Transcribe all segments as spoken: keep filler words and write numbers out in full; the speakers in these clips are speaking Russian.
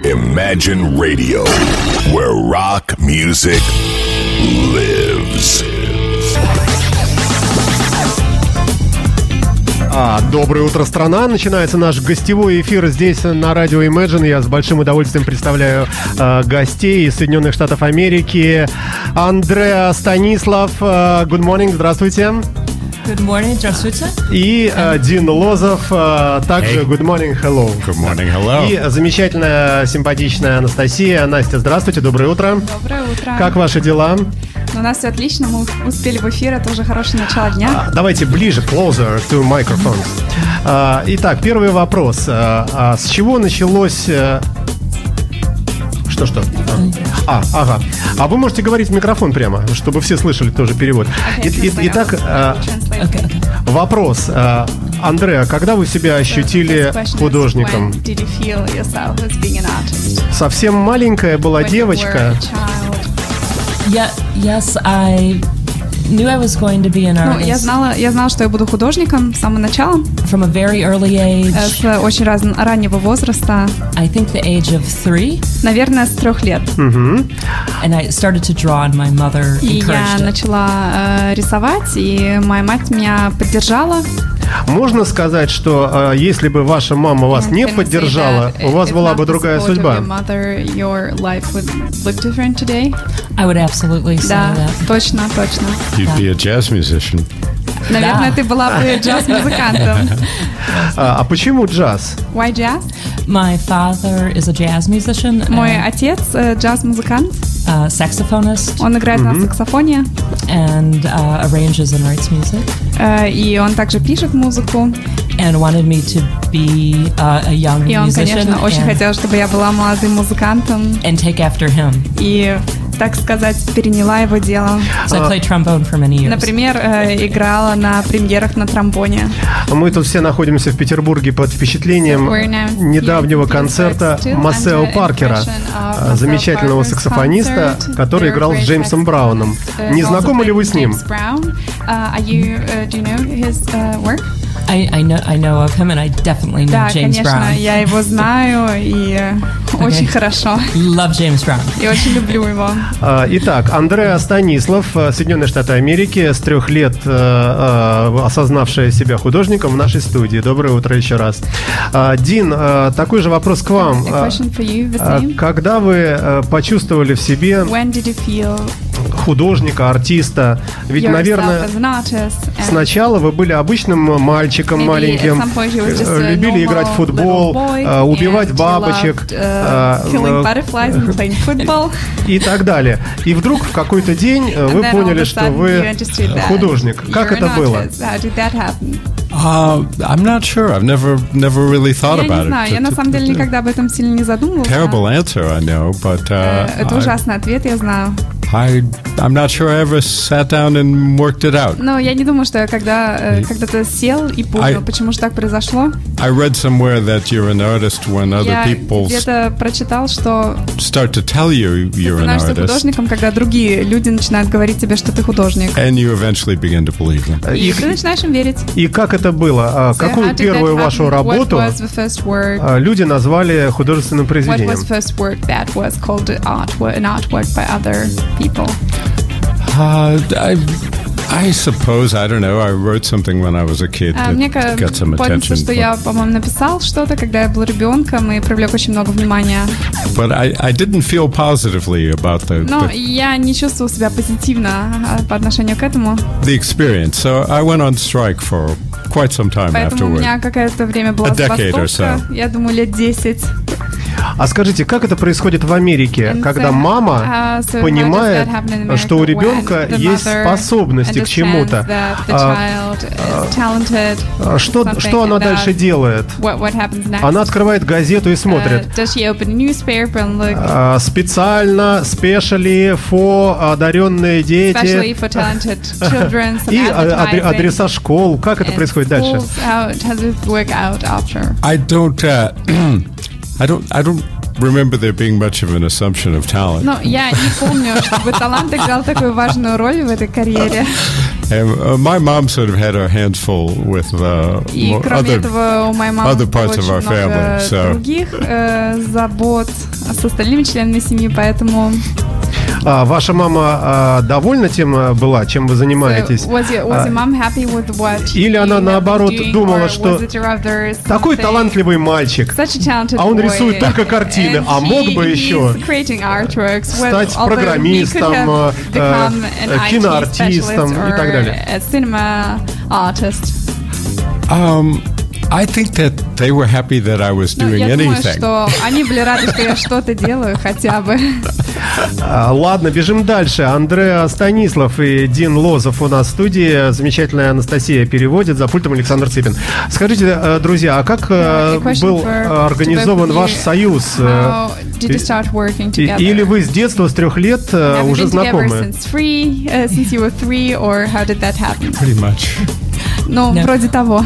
Imagine Radio, where rock music lives. А, доброе утро, страна. Начинается наш гостевой эфир здесь на радио Imagine. Я с большим удовольствием представляю э, гостей из Соединенных Штатов Америки. Андреа Станислав, э, good morning, здравствуйте. Good morning, здравствуйте. И э, Дин Лозов, э, также Hey. good morning, hello. Good morning, hello. И замечательная, симпатичная Анастасия. Настя, здравствуйте, доброе утро. Доброе утро. Как ваши дела? У нас все отлично, мы успели в эфир, это уже хорошее начало дня. А, давайте ближе, closer to microphones. А, итак, первый вопрос. А, а с чего началось... а, Что-что? А, ага. А вы можете говорить в микрофон прямо, чтобы все слышали тоже перевод. Okay, И- и- Итак, а, Okay, okay. вопрос. А, Андреа, когда вы себя ощутили художником? Совсем маленькая была девочка. Yeah, yes, I knew I was going to be an Ну, я artist знала, я знала, что я буду художником с самого начала, from a very early э, age. с очень раз, раннего возраста, I think the age of three, наверное, с трех лет. Мгм. and I started to draw, and my mother И я encouraged it. начала э, рисовать, и моя мать меня поддержала. Можно сказать, что а, если бы ваша мама вас не Can we say поддержала, that у вас if была not бы the другая support of судьба? your mother, your life would look different today. I would absolutely say Да, that. точно, точно. You'd be a jazz musician. Наверное, ты была бы джаз-музыкантом. А, а почему джаз? Why jazz? My father is a jazz musician, Мой and, отец э, джаз-музыкант. uh, saxophonist, Он играет на саксофоне, and uh, arranges and writes music, э, и он также пишет музыку. and wanted me to be uh, a young И он, musician конечно, очень and, хотел, чтобы я была молодым музыкантом and take after him. и, так сказать, переняла его дело. So I played trombone for many years. Например, э, играла на премьерах на тромбоне. Мы тут все находимся в Петербурге под впечатлением We're now недавнего here in концерта Pittsburgh, still Массео under Паркера, impression of а, замечательного Marcel Parker's саксофониста, concert. который Very играл с great Джеймсом saxophonist, Брауном. uh, Не also знакомы ли вы с ним? James Brown. Uh, are you, uh, do you know his uh, work? I, I know I know of him, and I definitely know Да, James конечно, Brown. я его знаю и э, очень хорошо. Love James Brown. И очень люблю его. А, Итак, Андреа Станислав, а, Соединенные Штаты Америки, с трех лет а, а, осознавшая себя художником в нашей студии. Доброе утро еще раз. А, Дин, а, такой же вопрос к вам. A А, question for you, the а, same. Когда вы а, почувствовали в себе When did you feel художника, артиста? Ведь, yourself наверное, as an artist? And сначала вы были обычным мальчиком maybe маленьким, at some point you were just э, a любили normal играть в футбол, little boy, э, убивать and you бабочек loved, uh, э, killing э, butterflies and playing football. и так далее. И вдруг в какой-то день э, вы And then all поняли, of a что sudden вы you understood that художник. Как you're это an было? artist. How did that happen? Uh, I'm not sure. I've never never really thought Я не about знаю, it. я на самом деле никогда об этом сильно не задумывался. Terrible answer, I know, but Э, uh, Это ужасный ответ, я знаю. I, I I'm not sure I ever sat down and worked it out. Но я не думаю, что я когда, э, когда-то сел и понял, I- почему же так произошло. I read somewhere that you're an artist when other Я people s- где-то прочитал, что start to tell you ты you're an становишься artist, художником, когда другие люди начинают говорить тебе, что ты художник. and you eventually begin to believe them. И И, ты начинаешь им верить. и как это было? А, So Какую how did that первую happen? вашу What работу was the first word? а, люди назвали художественным What произведением? was the first word that was called art, an artwork by other people? Uh, I, I suppose, I don't know, I wrote something when I was a kid А, that Мне ка- got some помнится, attention, что but, я, по-моему, написал что-то, когда я был ребенком и привлек очень много внимания. but I, I didn't feel positively about the, Но the, я не чувствовал себя позитивно а, по отношению к этому. the experience. So I went on strike for quite some time Поэтому у afterward. меня какое-то время была A decade or забастовка. so. Я думаю, лет десять. А скажите, как это происходит в Америке, And когда so, мама uh, so how понимает, does that happen in America что у when ребенка the есть mother способности к understands чему-то? that the А, child is talented, а, Что, something что она like that? дальше делает? What, what happens next? Она открывает газету и смотрит. Uh, does she open a newspaper and look, А, Специально, спешали, фо, одаренные especially дети. for talented children, some И а, адре- advertising, адреса школ. Как это and происходит дальше? schools, how does it work out after? I don't, uh, I don't, I don't remember there being much of an assumption of talent. Ну, я не помню, чтобы талант играл такую важную роль в этой карьере. And uh, my mom sort of had her hands full with uh, И more кроме other, этого у моей мамы other было parts of очень our много family. So других э, забот с остальными членами семьи, поэтому... А ваша мама а, довольна тем а, была, чем вы занимаетесь? So, was your, was your mom happy with what Или you она have been наоборот doing, думала, or что was it rather такой something- талантливый мальчик, Such a talented а он boy, рисует только картины, and а мог he- бы he's еще creating artworks, when- стать although he could программистом, have э, become an э, I T киноартистом specialist и так or далее. a cinema artist. um, I think that they were happy that I was Ну, doing я думаю, anything. что они были рады, что я что-то делаю хотя бы. А, ладно, бежим дальше. Андреа Станислав и Дин Лозов у нас в студии. Замечательная Анастасия переводит, за пультом Александр Цыпин. Скажите, э, друзья, а как э, A question был for- организован to both of ваш you. союз? э, How did you start working и- together? Или вы с детства, с трех лет э, Have you уже been together знакомы? since three, uh, since you were three, or how did that happen? Pretty much. Ну, No. вроде того.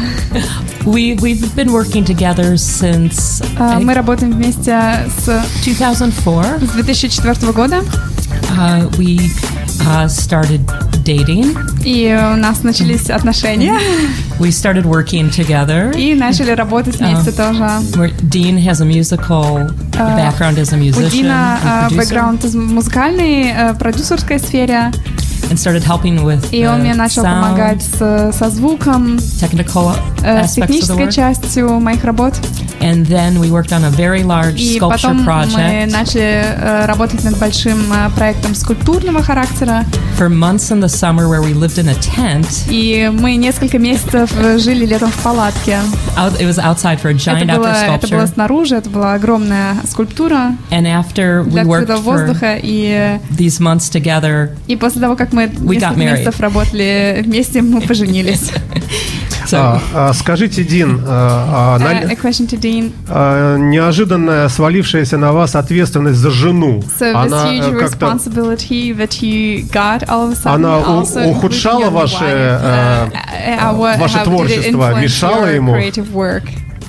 We we've been working together since А, I- Мы работаем вместе с two thousand four. с две тысячи четвёртого года, Uh, we uh, started dating. и у нас начались отношения, We started working together. и начали работать вместе тоже. Where Dean has a musical background as a У musician Дина and а, producer, бэкграунд из музыкальной, э, продюсерской сфере, and started helping with и он the мне начал sound, помогать с, со звуком, technical э, с aspects of the технической work. частью моих работ. And then we worked on a very large И sculpture потом мы project начали э, работать над большим э, проектом скульптурного характера. for months in the summer where we lived in a tent. И мы несколько месяцев э, жили летом в палатке. Out, it was outside for a giant Это было, outdoor это было sculpture. снаружи, это была огромная скульптура And after we для worked открытого for воздуха. И, these months together, и после того, как мы We got несколько married. месяцев работали вместе, мы поженились. so А, а, скажите, Дин, а, а, на- Uh, a question to Dean. а, неожиданная свалившаяся на вас ответственность за жену, So this она huge э, как-то responsibility that you got all of a sudden Она у- also ухудшала including your ваше, wife, э, uh, how- ваше how did it творчество, influence мешало your ему? creative work?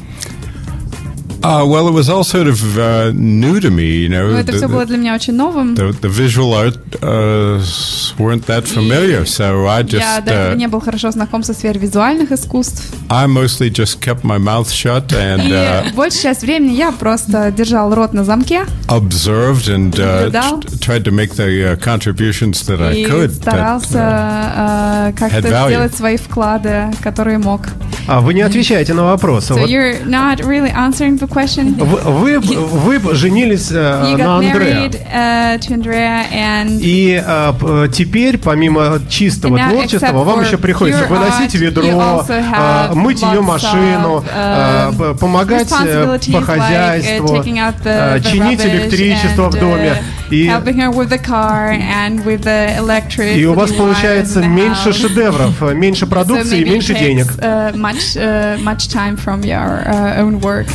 Uh, well, it was all sort of uh, new to me, you know. Ну, это The- все было the- для меня очень новым. The, the visual art uh, s- weren't that familiar, so I Я just до этого uh, не был хорошо знаком со сферой визуальных искусств. I mostly just kept my mouth shut and И uh, большую часть времени я просто держал рот на замке observed and uh, Наблюдал. t- tried to make the uh, contributions that I и could. that, старался uh, э, как-то had value. сделать свои вклады, которые мог. А вы не отвечаете на вопрос. So Вот you're not really answering the question. Вы, вы, вы женились э, You на got Андреа. married uh, to Andrea, and И э, п- теперь, помимо чистого And now, творчества, except вам for еще приходится pure выносить art, you ведро, also э, have мыть ее lots машину, of, э, uh, п- помогать э, responsibilities по like, uh, хозяйству, taking out э, the, the чинить rubbish электричество в and, доме. uh, И, helping her with the car and with the electric. и у вас wires получается in the меньше house. шедевров, э, меньше So продукции и maybe it меньше takes, денег. uh, much, uh, much time from your uh, own work.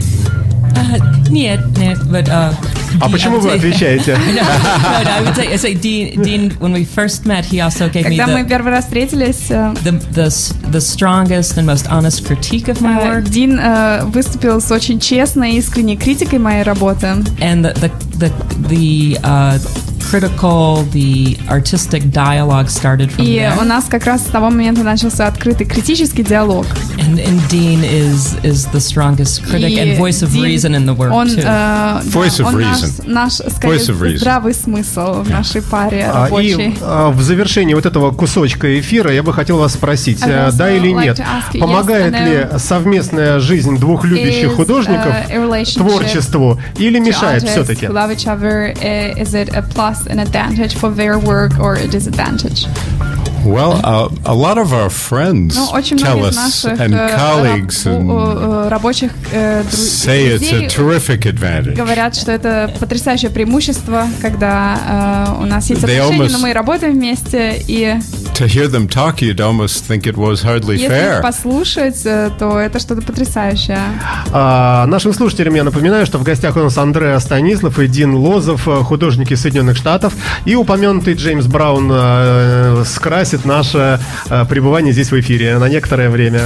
uh, нет, нет, but uh, А Dean- почему I would вы say- отвечаете? no, no, I would say, I say Dean, Dean, when we first met, he also gave me Когда мы the, первый раз встретились, э, the, the, s- the strongest and most honest critique of my э, work. Дин э, выступил с очень честной и искренней критикой моей работы. And the, the, the, the uh, critical, the artistic dialogue started from И there. у нас как раз с того момента начался открытый критический диалог. And, and Dean is, is the strongest critic И and voice of Дин, reason in the work, он, too. э, Voice да, of он наш, reason. наш, скорее, Voice of reason. здравый смысл в нашей паре А, И рабочей. а, в завершении вот этого кусочка эфира я бы хотел вас спросить, I'd э, also да или like нет, to ask you, помогает yes, I ли know. совместная жизнь двух любящих Is, художников uh, a relationship творчеству или To мешает artists все-таки? who love each other, uh, is it a plus and advantage for their work or a disadvantage? well, uh, a lot of our friends Ну, очень tell многие из us наших and э, colleagues раб- and э, э, рабочих э, дру- say it's a друзей terrific advantage. говорят, что это потрясающее преимущество, когда э, у нас есть They отношения, almost- но мы работаем вместе, и To hear them talk, you'd almost think it was hardly если их fair. послушать, э, то это что-то потрясающее. А, нашим слушателям я напоминаю, что в гостях у нас Андреа Станислав и Дин Лозов, э, художники Соединенных Штатов, и упомянутый Джеймс Браун э, скрасит наше э, пребывание здесь в эфире на некоторое время.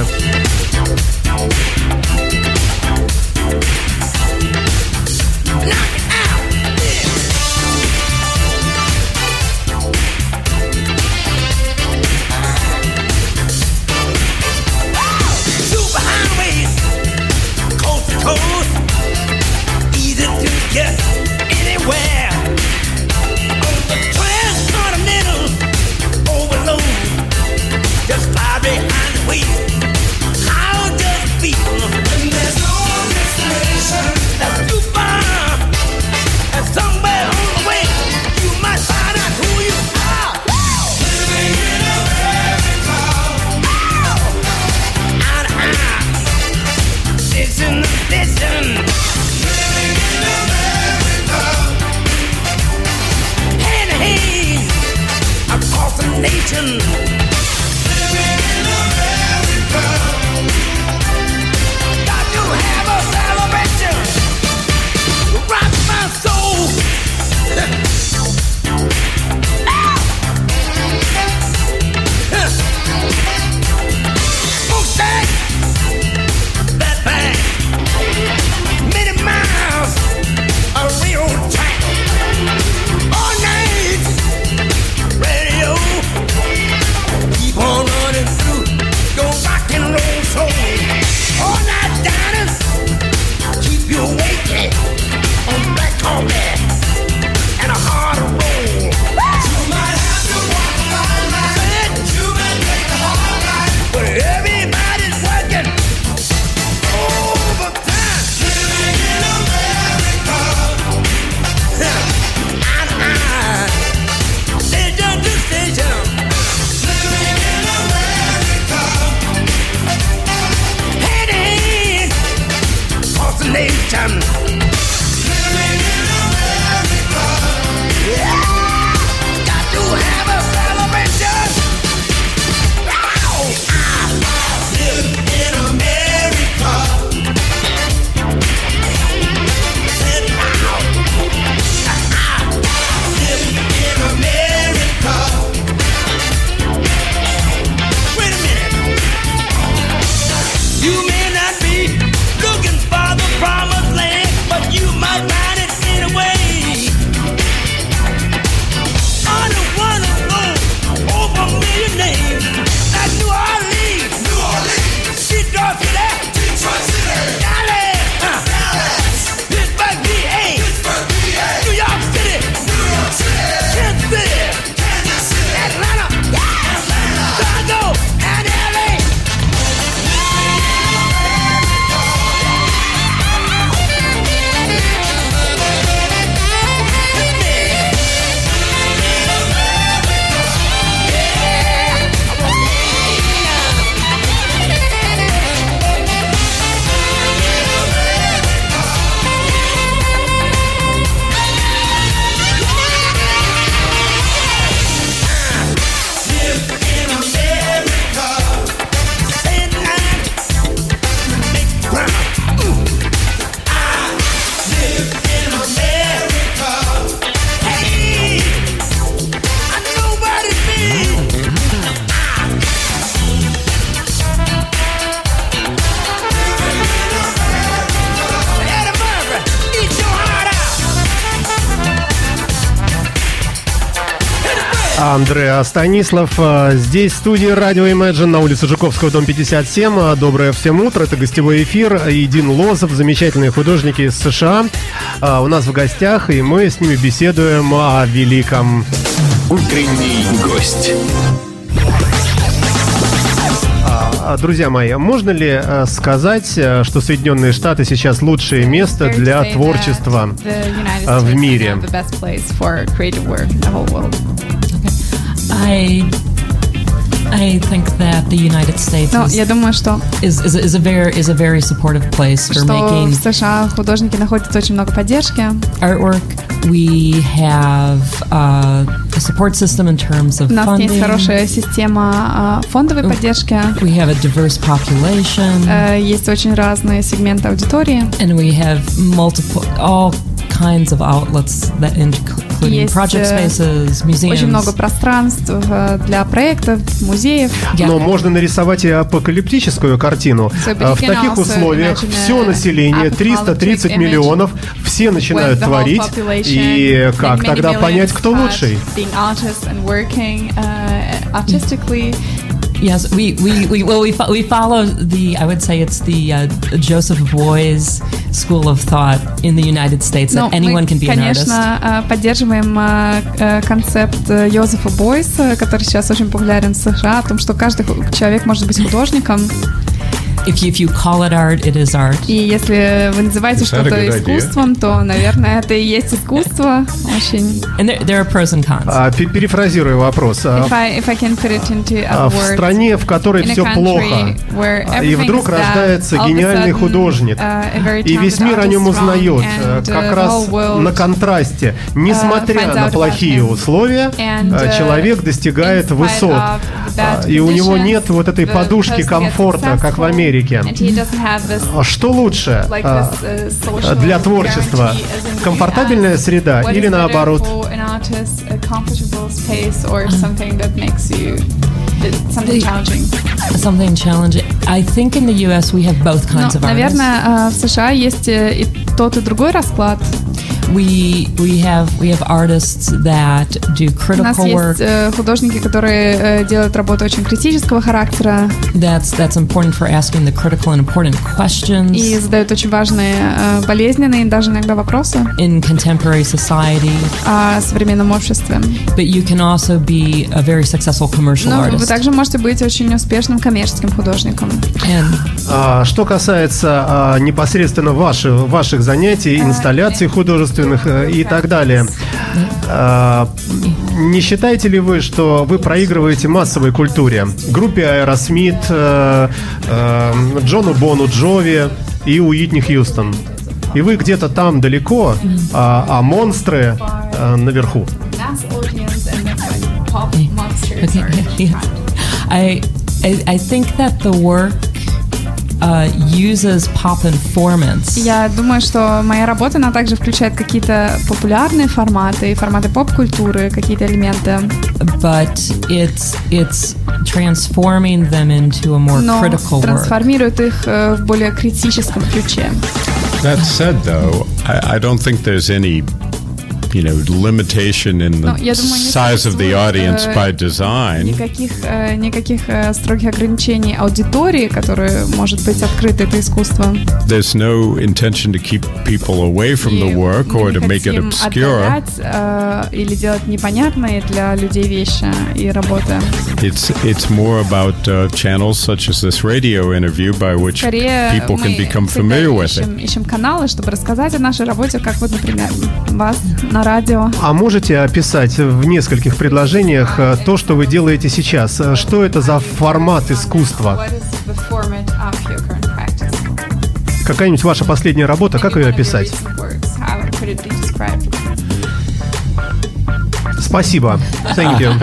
Андреа Станислав. Здесь в студии радио Imagine на улице Жуковского, дом пятьдесят семь. Доброе всем утро. Это гостевой эфир. И Дин Лозов, замечательные художники из США, у нас в гостях, и мы с ними беседуем о великом. Утренний гость. Друзья мои, можно ли сказать, что Соединенные Штаты сейчас лучшее место для творчества в мире? I I think that the United States Но is, я думаю, что is, is, is a very is a very supportive place for что making в США художники находят очень много поддержки. artwork. We have uh, a support system in terms of У нас funding. есть хорошая система э, фондовой поддержки. We have a diverse population, Э, Есть очень разные сегменты аудитории. and we have multiple all kinds of outlets that including Есть, project э, spaces, Очень много museums. пространств э, для проектов, музеев. Yeah. Но можно нарисовать и апокалиптическую картину. So, but А, you В can таких also условиях imagine все a население, триста тридцать apocalyptic image миллионов, все начинают with the whole творить. population, И like как many тогда millions понять, кто start лучший? being artists and working uh, artistically. Yes, we we, we well we fo- we follow the I would say it's the uh, Joseph Beuys school of thought in the United States that Ну, anyone мы, can be an artist. конечно, э, поддерживаем э, э, концепт э, Йозефа Бойса, который сейчас очень популярен в США, о том, что каждый ху- человек может быть художником. If you, if you call it art, it is art. И если вы называете Is that a что-то good idea? искусством, то, наверное, это и есть искусство. Очень. And there, there are pros and cons. А, пе- Перефразирую вопрос. А, If I, if I can put it into а, a В word, стране, в которой in a все country плохо, where а, и everything вдруг is bad, рождается all of a гениальный sudden, художник, uh, a very и весь talented мир о нем artist узнает, strong, э, and, uh, как the раз whole world, на контрасте. Несмотря finds на out about плохие him. условия, And, э, uh, человек достигает in spite высот. of the bad А, И у него conditions, нет вот этой the подушки person gets комфорта, как в successful, Америке. and he doesn't have this, А Что лучше like а, this, uh, social для творчества? guarantee as in the Комфортабельная U S? среда What или is better наоборот? for an artist, a comfortable space or something that makes you it's something challenging? Something challenging. I think in the U S we have both kinds Ну, of artists. наверное, э, в США есть э, и тот, и другой расклад. We we have we have artists that do У нас critical есть work. э, художники, которые э, делают работу очень критического характера That's that's important for asking the critical and important questions и задают очень важные, э, болезненные, даже иногда вопросы in contemporary society. о современном обществе. But you can also be a very successful commercial Но вы artist. также можете быть очень успешным коммерческим художником. And А, Что касается а, непосредственно ваших, ваших занятий, инсталляций художественных э, и так далее, а, не считаете ли вы, что вы проигрываете массовой культуре? Группе Аэросмит, э, э, Джону Бону Джови и Уитни Хьюстон. И вы где-то там далеко, а, а монстры э, наверху. okay, yeah. I, I I think that the work uh, uses pop informants. Я думаю, что моя работа, она также включает какие-то популярные форматы, форматы поп-культуры, какие-то элементы, But it's it's transforming them into a more но critical work. трансформирует их э, в более критическом ключе. That said, though, I, I don't think there's any, you know, limitation in the Ну, я думаю, не size of the audience существует, by э, design. Никаких, э, никаких э, строгих ограничений аудитории, которая может быть открыта, это искусство. There's no intention to keep people away from the И work мы or не to make it хотим obscure. отдалять, э, или делать непонятные для людей вещи и работы. It's it's more about uh, channels such as this radio interview by which Скорее, people мы can become всегда familiar with it. ищем, ищем каналы, чтобы рассказать о нашей работе, как вот, например, вас на радио. А можете описать в нескольких предложениях э, то, что вы делаете сейчас? Э, Что это за формат искусства? Какая-нибудь ваша последняя работа, как ее описать? Спасибо. Thank you.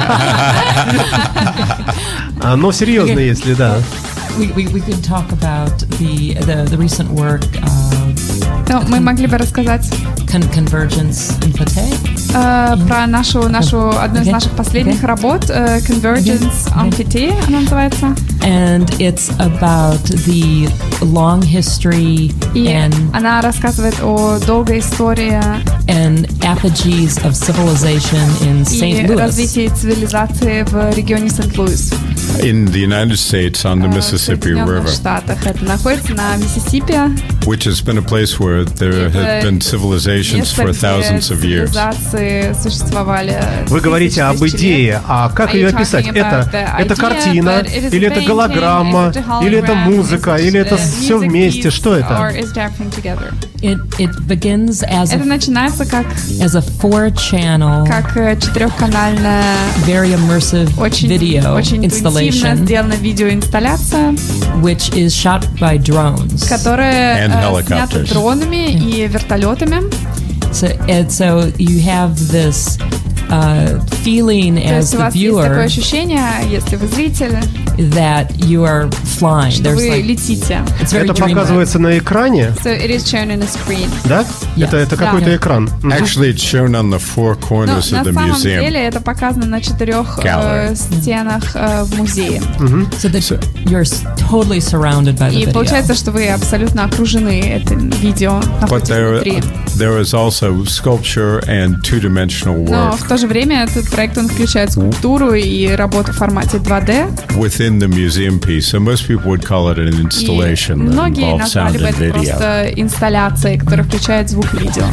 А, Но серьезно, если да. We, we, we could talk about the the, the recent work of Ну, мы могли бы рассказать Con- Convergence Infotech. Э, про нашу, нашу, одну из Okay. наших последних Okay. работ, э, Convergence Okay. Amphitee, она называется. And it's about the long history И and она рассказывает о долгой истории and apogees of civilization in и Saint Louis. развитии цивилизации в регионе Сент-Луис. In the United States on the Э, в Mississippi Соединенных River, Штатах. Это находится на Миссисипи. which has been a place where there Это have been civilizations место, for где thousands of years. цивилизации существовали. Вы говорите об тысячи идее, лет. а как Are ее you описать? talking Это, about the это idea, картина, but it is или это painting, голограмма, is it a или это hologram, музыка, is it или это a все music вместе? piece, Что or это? is it everything together? It it begins as Это a, начинается как, as a four-channel, как э, четырехканальная, very immersive очень, video очень интуитивно installation, сделана видеоинсталляция, which is shot by drones. которая And э, helicopters. снята дронами и вертолетами. So, and so you have this uh, feeling То as есть у the вас есть такое viewer ощущение, если вы зритель, that you are flying. что There's вы like летите. it's very Это dreamlike. показывается на экране, So it is shown in a screen. да? Yes. Это, это Да. какой-то экран. Мгм. Actually, it's shown on the four Но corners на of the самом museum. деле это показано на четырех э, Gallery. стенах э, в музее. So that you're s- totally surrounded by the И video. получается, что вы абсолютно окружены этим видео, But находитесь there, внутри. there is also sculpture and two-dimensional Но work в то же время этот проект, он включает скульптуру и работу в формате два дэ. within the museum piece. So most people would call it an И installation that многие involves назвали sound бы and это video. просто инсталляцией, которая включает звук и видео.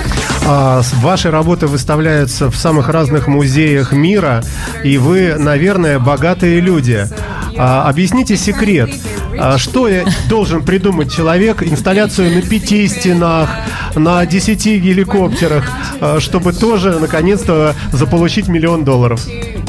А, с- ваши работы выставляются в самых разных музеях мира, и вы, наверное, богатые люди. А, объясните секрет. А, что я должен придумать человек? Инсталляцию на пяти стенах, на десяти геликоптерах, а, чтобы тоже, наконец-то, заполучить миллион долларов.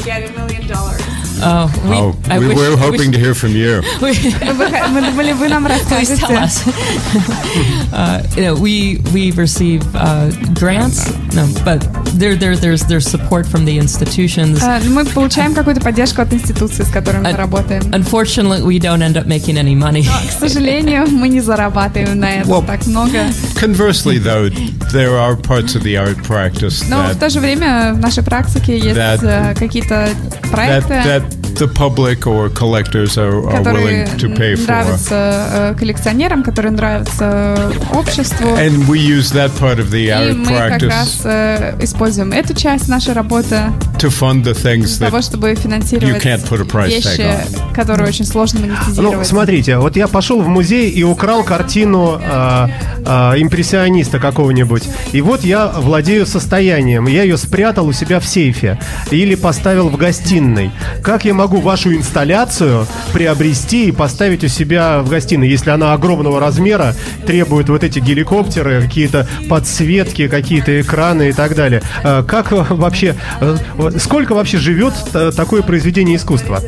Uh, we, Oh, I we wish- were wish- hoping to hear from you. Мы, бы- мы думали, вы нам Please tell расскажете. us. uh, you know, we we receive uh, grants, no, but there there there's there's support from the institutions. Э, Мы получаем какую-то поддержку от институции, с которыми мы Uh, работаем. Unfortunately, we don't end up making any money. К сожалению, мы не зарабатываем на этом Well, так много. Conversely, though, there are parts of the art practice Но в that, то же время в нашей практике есть That- э, какие-то that проекты, that the public or collectors are, are которые willing to pay for. нравятся э, коллекционерам, которые нравятся обществу. And we use that part of the И art мы как раз practice э, используем эту часть нашей работы to fund the things для того, that чтобы финансировать you can't put a price вещи, tag которые очень сложно Ну, монетизировать. смотрите, вот я пошел в музей и украл картину а, а, импрессиониста какого-нибудь. И вот я владею состоянием. Я ее спрятал у себя в сейфе или поставил в гостиной. Как я могу вашу инсталляцию приобрести и поставить у себя в гостиной, если она огромного размера, требует вот эти геликоптеры, какие-то подсветки, какие-то экраны и так далее? А, Как вообще, э, сколько вообще живет э, такое произведение искусства?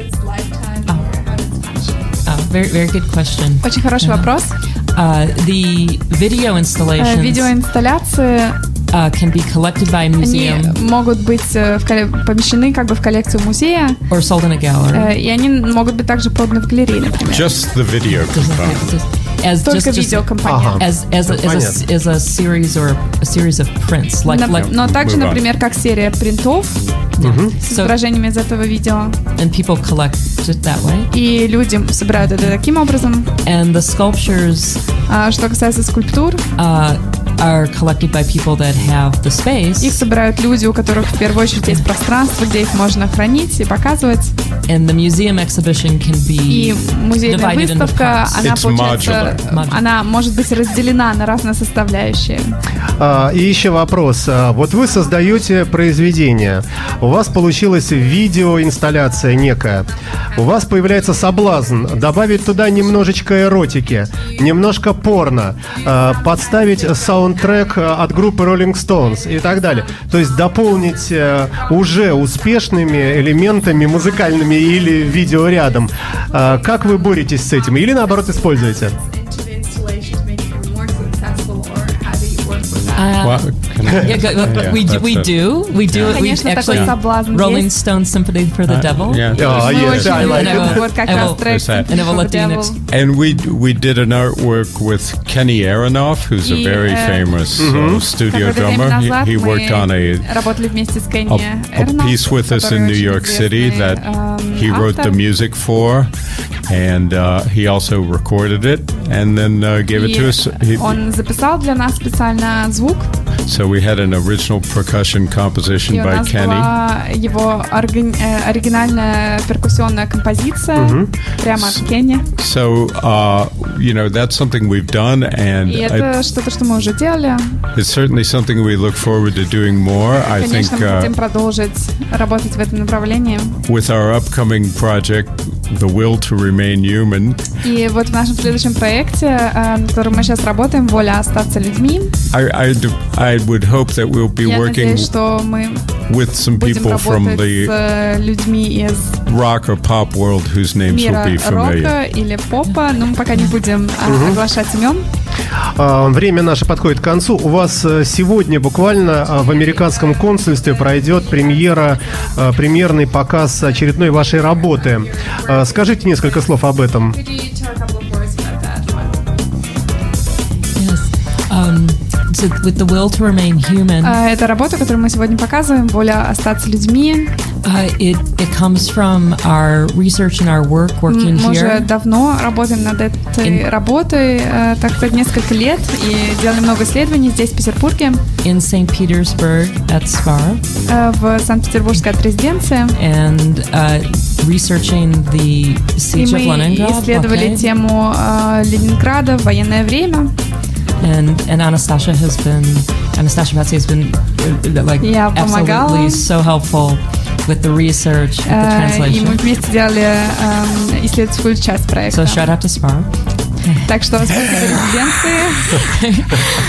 Uh, very very good question. Очень хороший вопрос. Uh, the video Э, installations Видеоинсталляции, uh, can be collected by a они museum могут быть э, в колле- помещены как бы в коллекцию музея, or sold in a gallery. э, и они могут быть также проданы в галерее, например. just the video component. As Только just, just видеокомпонент. Ага. as as a, as, a, Понятно. as a series or a series of prints, like На- like Но также, Move on. например, как серия принтов с so, изображениями из этого видео. and people collect it that way. И люди собирают это таким образом. And the sculptures А что касается скульптур, uh, are collected by people that have the space, их собирают люди, у которых в первую очередь есть пространство, где их можно хранить и показывать. and the museum exhibition can И be музейная divided into выставка, parts. она, It's получается, modular. она может быть разделена на разные составляющие. А, и еще вопрос. А, вот вы создаете произведение, у вас получилась видеоинсталляция некая, у вас появляется соблазн добавить туда немножечко эротики, немножко порно, а, подставить саундтрек от группы Rolling Stones и так далее. То есть дополнить а, уже успешными элементами музыкальными или видеорядом. А, как вы боретесь с этим? Или наоборот используете? Uh, Well, Yeah, go- Yeah, we do, that's we it. do, we do. Yeah. We Конечно, такой actually соблазн Rolling есть. Stone Symphony for the Devil. Yeah. Oh, Мы yes, очень I like любим it. вот как I раз will- трек There's that. Symphony And I will for the Latinx. Devil. And we we did an artwork with Kenny Aronoff, who's a И, very э, famous uh, studio Какое-то время drummer. назад He, he worked on a мы работали вместе с Кенни a, a Эрноф, piece with us который in New очень York City известный, that эм, he wrote the автор. music for, and uh, he also recorded it and then uh, gave it И to us. He, он записал для нас специально звук, so we had an original percussion composition и у by нас Kenny. была его органи- э, оригинальная перкуссионная композиция прямо от Кенни. So uh, you know that's something we've done, and И I, это что-то, что мы уже делали. it's certainly something we look forward to doing more. I think Конечно, мы uh, хотим продолжить работать в этом направлении. with our upcoming project, The Will to Remain Human, И вот в нашем следующем проекте, э, над которым мы сейчас работаем, «Воля остаться людьми», I, I, do- I would hope that we'll be я working надеюсь, что мы with some будем people from работать the с э, людьми из rock or pop world whose names will мира be familiar. рока или попа, но мы пока не будем а, оглашать имен. А, Время наше подходит к концу. У вас э, сегодня буквально а, в американском консульстве пройдет премьера, э, премьерный показ очередной вашей работы. А, Скажите несколько слов об этом. Yes. Um, so with the will to remain human, А, Это работа, которую мы сегодня показываем, «Воля остаться людьми». uh, it it comes from our research and our work working Мы уже here давно работаем над этой In- работой, э, так сказать, несколько лет, и делали много исследований здесь, в Петербурге, in Saint Petersburg at SPAR, э, в Санкт-Петербургской резиденции. and uh, researching the И siege of мы Leningrad. исследовали blockade. тему э, Ленинграда в военное время. and and Anastasia has been Anastasia Patsy has been uh, like Я помогала. absolutely so helpful with the research, with the Э, И мы translation. вместе делали э, исследовательскую часть проекта. So shout out to SPAR. Так что спасибо резиденции.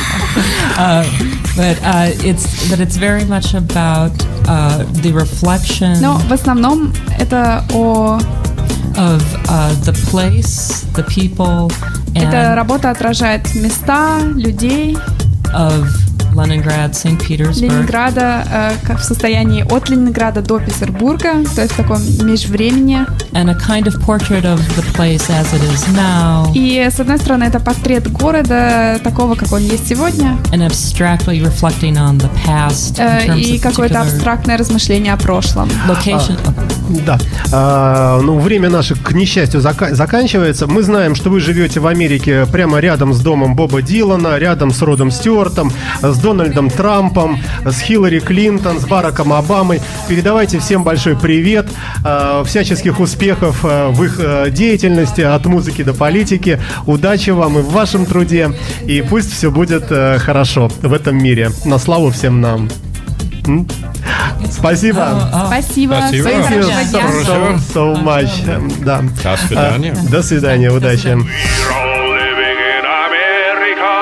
Uh, but uh, it's but it's very much about uh, the reflection Но в основном это о of uh, the place, the people, эта and работа отражает места, людей of Leningrad, Saint Petersburg, Ленинграда, э, как в состоянии от Ленинграда до Петербурга, то есть в таком межвремени. and a kind of portrait of the place as it is now, И с одной стороны это портрет города такого, как он есть сегодня, and abstractly reflecting on the past in э, terms и of какое-то particular абстрактное размышление о прошлом. location. Да. А, ну, время наше, к несчастью, зака- заканчивается. Мы знаем, что вы живете в Америке прямо рядом с домом Боба Дилана, рядом с Родом Стюартом, с Дональдом Трампом, с Хиллари Клинтон, с Бараком Обамой. Передавайте всем большой привет, а, всяческих успехов а, в их а, деятельности, от музыки до политики. Удачи вам и в вашем труде. И пусть все будет а, хорошо в этом мире. На славу всем нам. М? Спасибо. Спасибо. Спасибо. Всем Thank you хорошего дня. so, so, so much. Да. До свидания. А, До свидания, удачи. We're all living in America,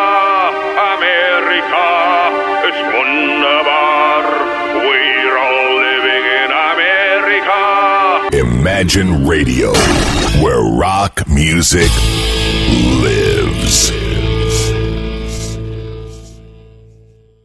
America ist wunderbar. We're all living in America. Imagine Radio, where rock music lives.